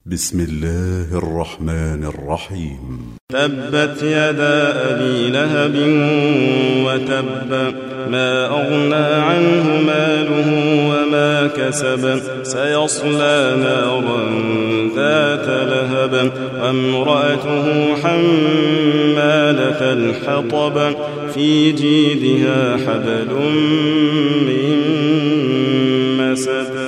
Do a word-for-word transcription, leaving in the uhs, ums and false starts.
بسم الله الرحمن الرحيم. تبت يدا أبي لهب وتب، ما أغنى عنه ماله وما كسب، سيصلى نارا ذات لهب، وامرأته حمالة الحطب، في جيدها حبل من مسد.